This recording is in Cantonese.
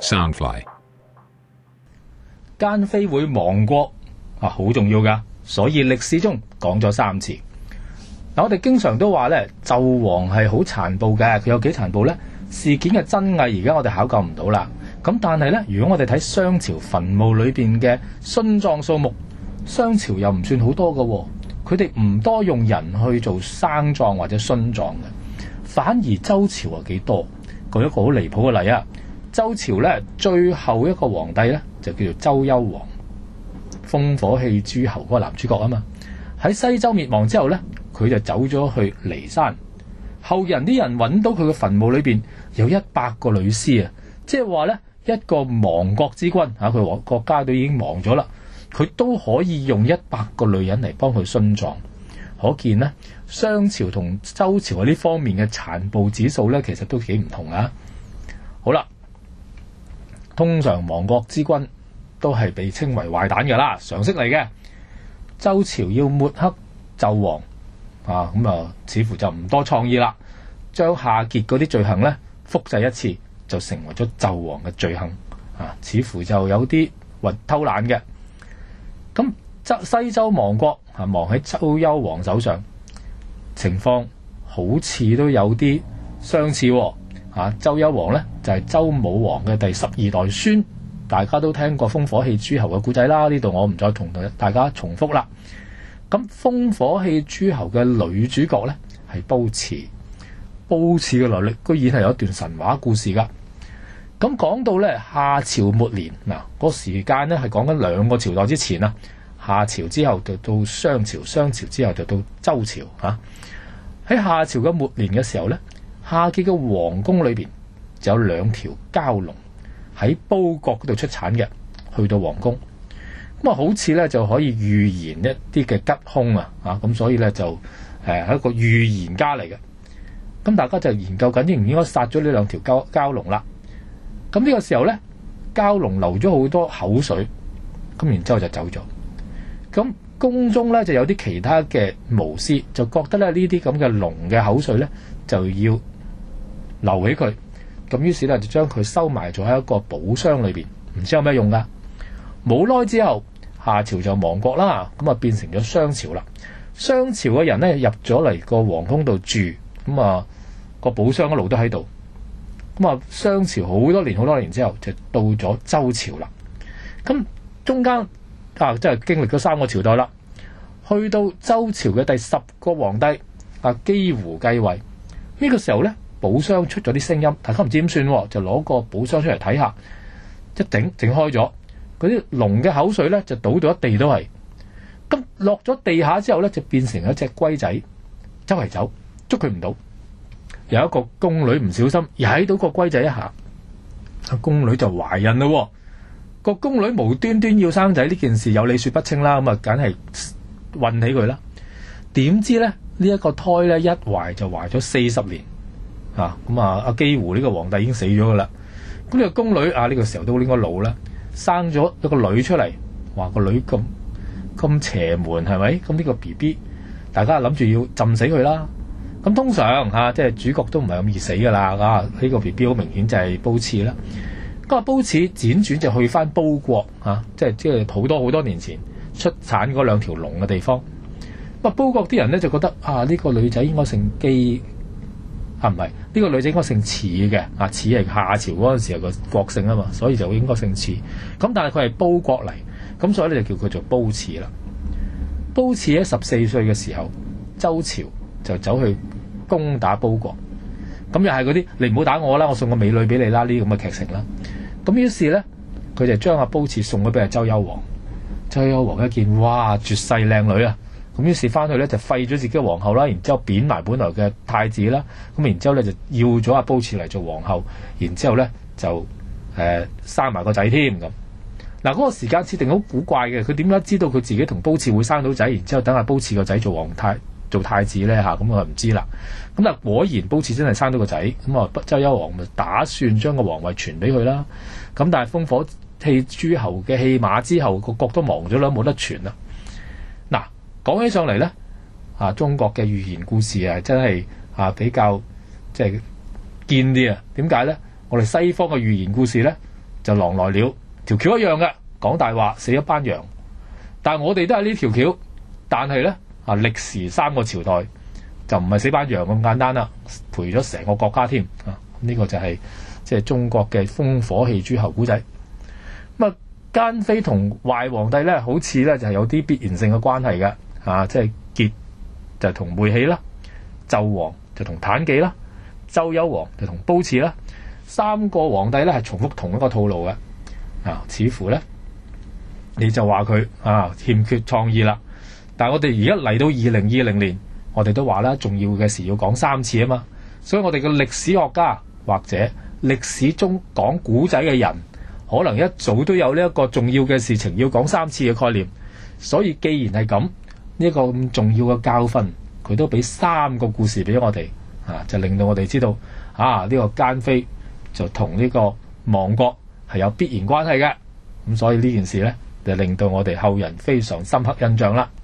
Soundfly。 奸非會亡國啊，好重要噶，所以歷史中講咗3次。嗱，我哋經常都話咧，紂王係好殘暴嘅，佢有幾殘暴呢？事件嘅真偽而家我哋考究唔到啦。咁但係咧，如果我哋睇商朝墳墓裏邊嘅殉葬數目，商朝又唔算好多噶，佢哋唔多用人去做生葬或者殉葬嘅，反而周朝啊幾多。舉一個好離譜嘅例啊，周朝咧最後一個皇帝咧就叫做周幽王，烽火戲諸侯嗰個男主角啊嘛。喺西周滅亡之後咧，佢就走咗去驪山，後人啲人揾到佢嘅墳墓裏邊有100個女屍啊，即係話咧一個亡國之君啊，佢國家都已經亡咗啦，佢都可以用100個女人嚟幫佢殉葬，可見呢，商朝同周朝喺呢方面嘅殘暴指數咧，其實都幾唔同啊。好啦，通常亡國之君都係被稱為壞蛋㗎啦，常識嚟嘅。周朝要抹黑紂王啊，咁啊，似乎就唔多創意啦，將夏桀嗰啲罪行咧複製一次，就成為咗紂王嘅罪行啊，似乎就有啲偷懶嘅。咁西周亡國啊，亡喺周幽王手上，情況好似都有啲相似喎。周幽王呢，就係周武王嘅第12代孫，大家都聽過烽火戲諸侯嘅故仔啦，呢度我唔再同大家重複啦。咁烽火戲諸侯嘅女主角呢，係褒姒，褒姒嘅來歷居然係有一段神話故事噶。咁講到呢，夏朝末年嗱，個時間呢係講緊2個朝代之前啊，夏朝之後就到商朝，商朝之後就到周朝啊。喺夏朝嘅末年嘅時候呢，夏桀嘅皇宮裏邊就有2條蛟龍喺褒國嗰度出產嘅，去到皇宮咁啊，好似咧就可以預言一啲嘅吉凶啊，咁所以咧就係一個預言家嚟嘅。咁大家就研究緊應唔應該殺咗呢2條蛟龍啦。咁呢個時候咧，蛟龍流咗好多口水，咁然之後就走咗。咁宮中咧就有啲其他嘅巫師就覺得咧呢啲咁嘅龍嘅口水咧就要留起佢，咁於是咧就將佢收埋咗喺一個寶箱裏邊，唔知有咩用噶。冇耐之後，夏朝就亡國啦，咁啊變成咗商朝啦。商朝嘅人咧入咗嚟個皇宮度住，咁啊個寶箱一路都喺度。咁啊商朝好多年之後就到咗周朝啦。咁中間即係經歷咗3個朝代啦，去到周朝嘅第10個皇帝姬胡繼位。呢個時候咧，寶箱出咗啲聲音，大家唔知點算，就攞個寶箱出嚟睇下，一整開咗，嗰啲龍嘅口水咧就倒到一地都係。咁落咗地下之後咧，就變成一隻龜仔，周圍走，捉佢唔到。有一個宮女唔小心踩到個龜仔一下，宮女就懷孕咯。個宮女無端端要生仔呢件事有理說不清啦，咁啊梗係運起佢啦。點知咧呢一個胎咧一懷就懷咗40年。咁阿姬胡呢個皇帝已經死咗噶啦。咁呢個宮女呢個時候都應該老啦，生咗一個女出嚟，話個女咁邪門係咪？咁呢個 BB 大家諗住要浸死佢啦。咁通常即係主角都唔係咁易死噶啦。呢個 BB 好明顯就係褒姒啦。咁啊褒姒輾轉就去翻褒國即係好多年前出產嗰2條龍嘅地方。咁褒國啲人咧就覺得呢個女仔應該姓姬。唔係，呢個女仔應該姓褚嘅，褚係夏朝嗰陣時候個國姓啊嘛，所以就應該姓褚。咁但係佢係褒國嚟，咁所以咧就叫佢做褒姒啦。褒姒喺14歲嘅時候，周朝就走去攻打褒國，咁又係嗰啲你唔好打我啦，我送個美女俾你啦，呢啲咁嘅劇情啦。咁於是咧，佢就將阿褒姒送咗俾阿周幽王。周幽王一見，哇，絕世靚女啊！咁於是翻去咧就廢咗自己嘅皇后啦，然之後貶埋本來嘅太子啦，咁然之後咧就要咗阿褒姒嚟做皇后，然之後咧就生埋個仔添咁。嗰個時間設定好古怪嘅，佢點解知道佢自己同褒姒會生到仔，然之後等阿褒姒個仔做太子咧咁我就唔知啦。咁但果然褒姒真係生到個仔，咁啊周幽王咪打算將個皇位傳俾佢啦。咁但係烽火戲諸侯嘅戲碼之後，個國都亡咗啦，冇得傳啦。講起上嚟咧，中國嘅寓言故事真係比較即係堅啲啊。點解咧？我哋西方嘅寓言故事咧， 就狼來了，條橋一樣嘅，講大話死一班羊。但係我哋都係呢條橋，但係呢，歷時3個朝代就唔係死班羊咁簡單啦，賠咗成個國家添啊！呢個就係即係中國嘅烽火戲諸侯古仔。咁奸妃同壞皇帝呢，好似呢就係有啲必然性嘅關係嘅，即係桀就同妹喜啦，紂王就同妲己啦，周幽王就同褒姒啦，3個皇帝呢係重複同一個套路嘅，似乎呢，你就話佢欠缺創意啦。但係我哋而家嚟到2020年，我哋都話啦，重要嘅事要講3次啊嘛，所以我哋嘅歷史學家或者歷史中講古仔嘅人，可能一早都有呢一個重要嘅事情要講3次嘅概念。所以既然係咁，呢個咁重要嘅教訓，佢都俾3個故事俾我哋，就令到我哋知道呢個奸妃就同呢個亡國係有必然關係嘅。咁所以呢件事呢，就令到我哋後人非常深刻印象啦。